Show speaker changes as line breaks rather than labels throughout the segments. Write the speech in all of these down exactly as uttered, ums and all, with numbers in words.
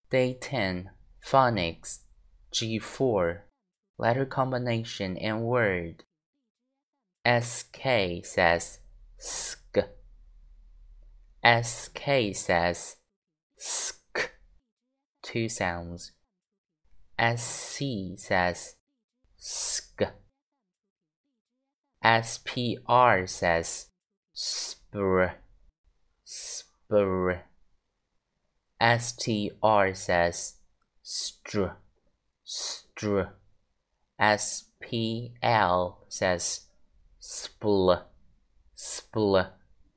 Day ten. Phonics. G four. Letter combination and word. Sk says sk. Sk says sk. Two sounds. Sc says sk. Spr says spr. Spr. Str says str. Str. Spl says spl. Spl.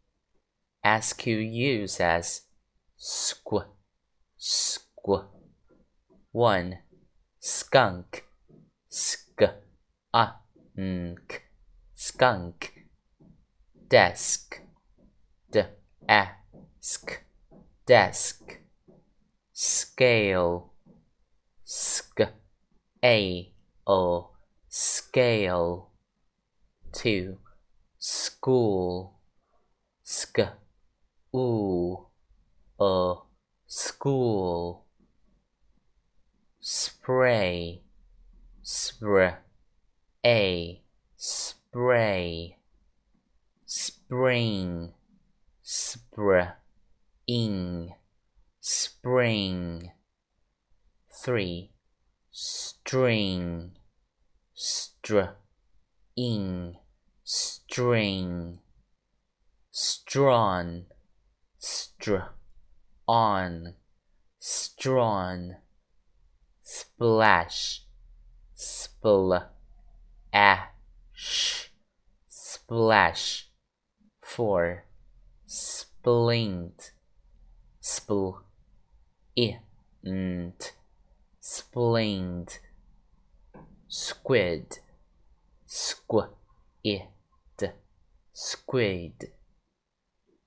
Squ says squ. Squ. one. Skunk. Sk. A. Nk. Skunk. Desk. D. Ask. Desk. Scale. Sk. A. O. Scale. two. School. Sk. Oo. A. School. Spray. Spr. A. Spray. Spring. Spr. Ing. Spring. three. String. Str. Ing. String. Strawn. Str. On. Strawn. Splash. Spl. Ash. Splash. four. Splint. Spl. Int. Splint. Squid. Squ. It. Squid.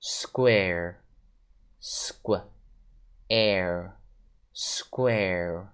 Square. Squ. Air. Square.